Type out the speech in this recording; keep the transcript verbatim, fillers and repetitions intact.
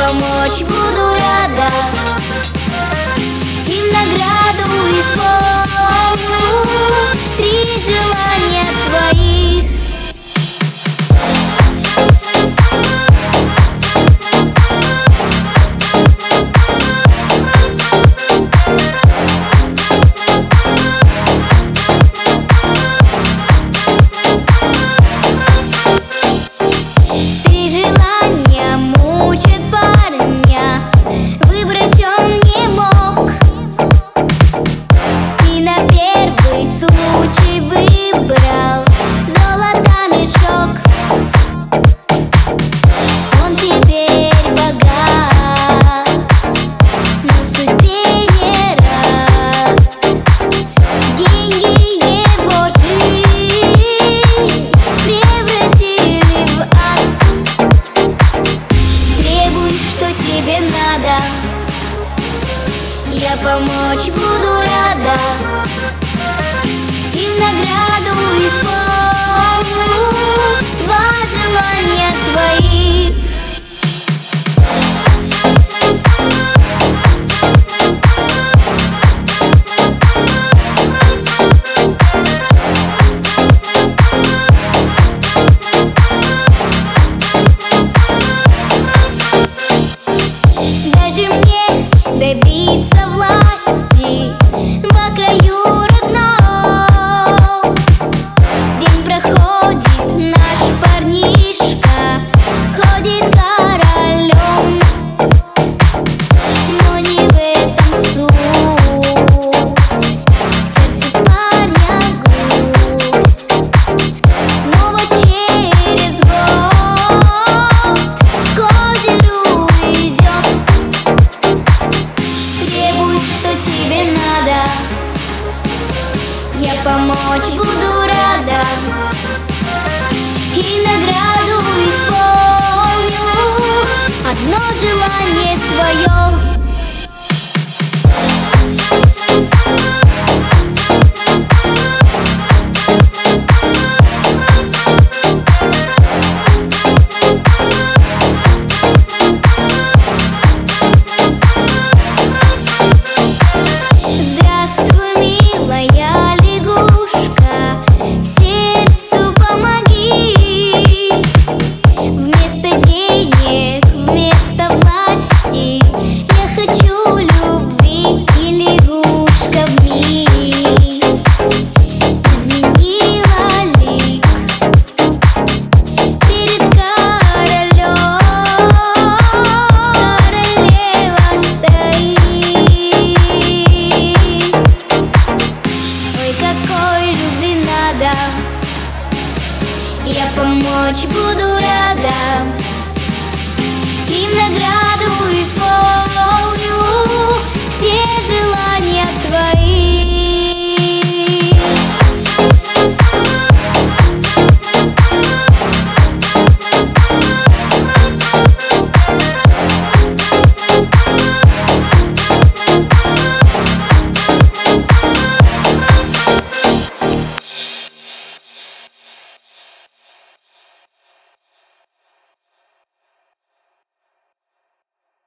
помочь буду рада, и в награду исполню три желания твоих. Я помочь буду рада, и в награду исполню два желания твоих. Даже мне добиться власти во краю родном. День проходит, наш парнишка ходит королем, но не в этом суть. В сердце парня грусть. Снова через год к озеру идет. Требуй, что тебе надо, я помочь буду рада, и награду исполню одно желание твое. Я помочь буду рада, и в награду исполню